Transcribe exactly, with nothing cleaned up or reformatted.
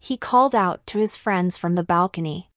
he called out to his friends from the balcony.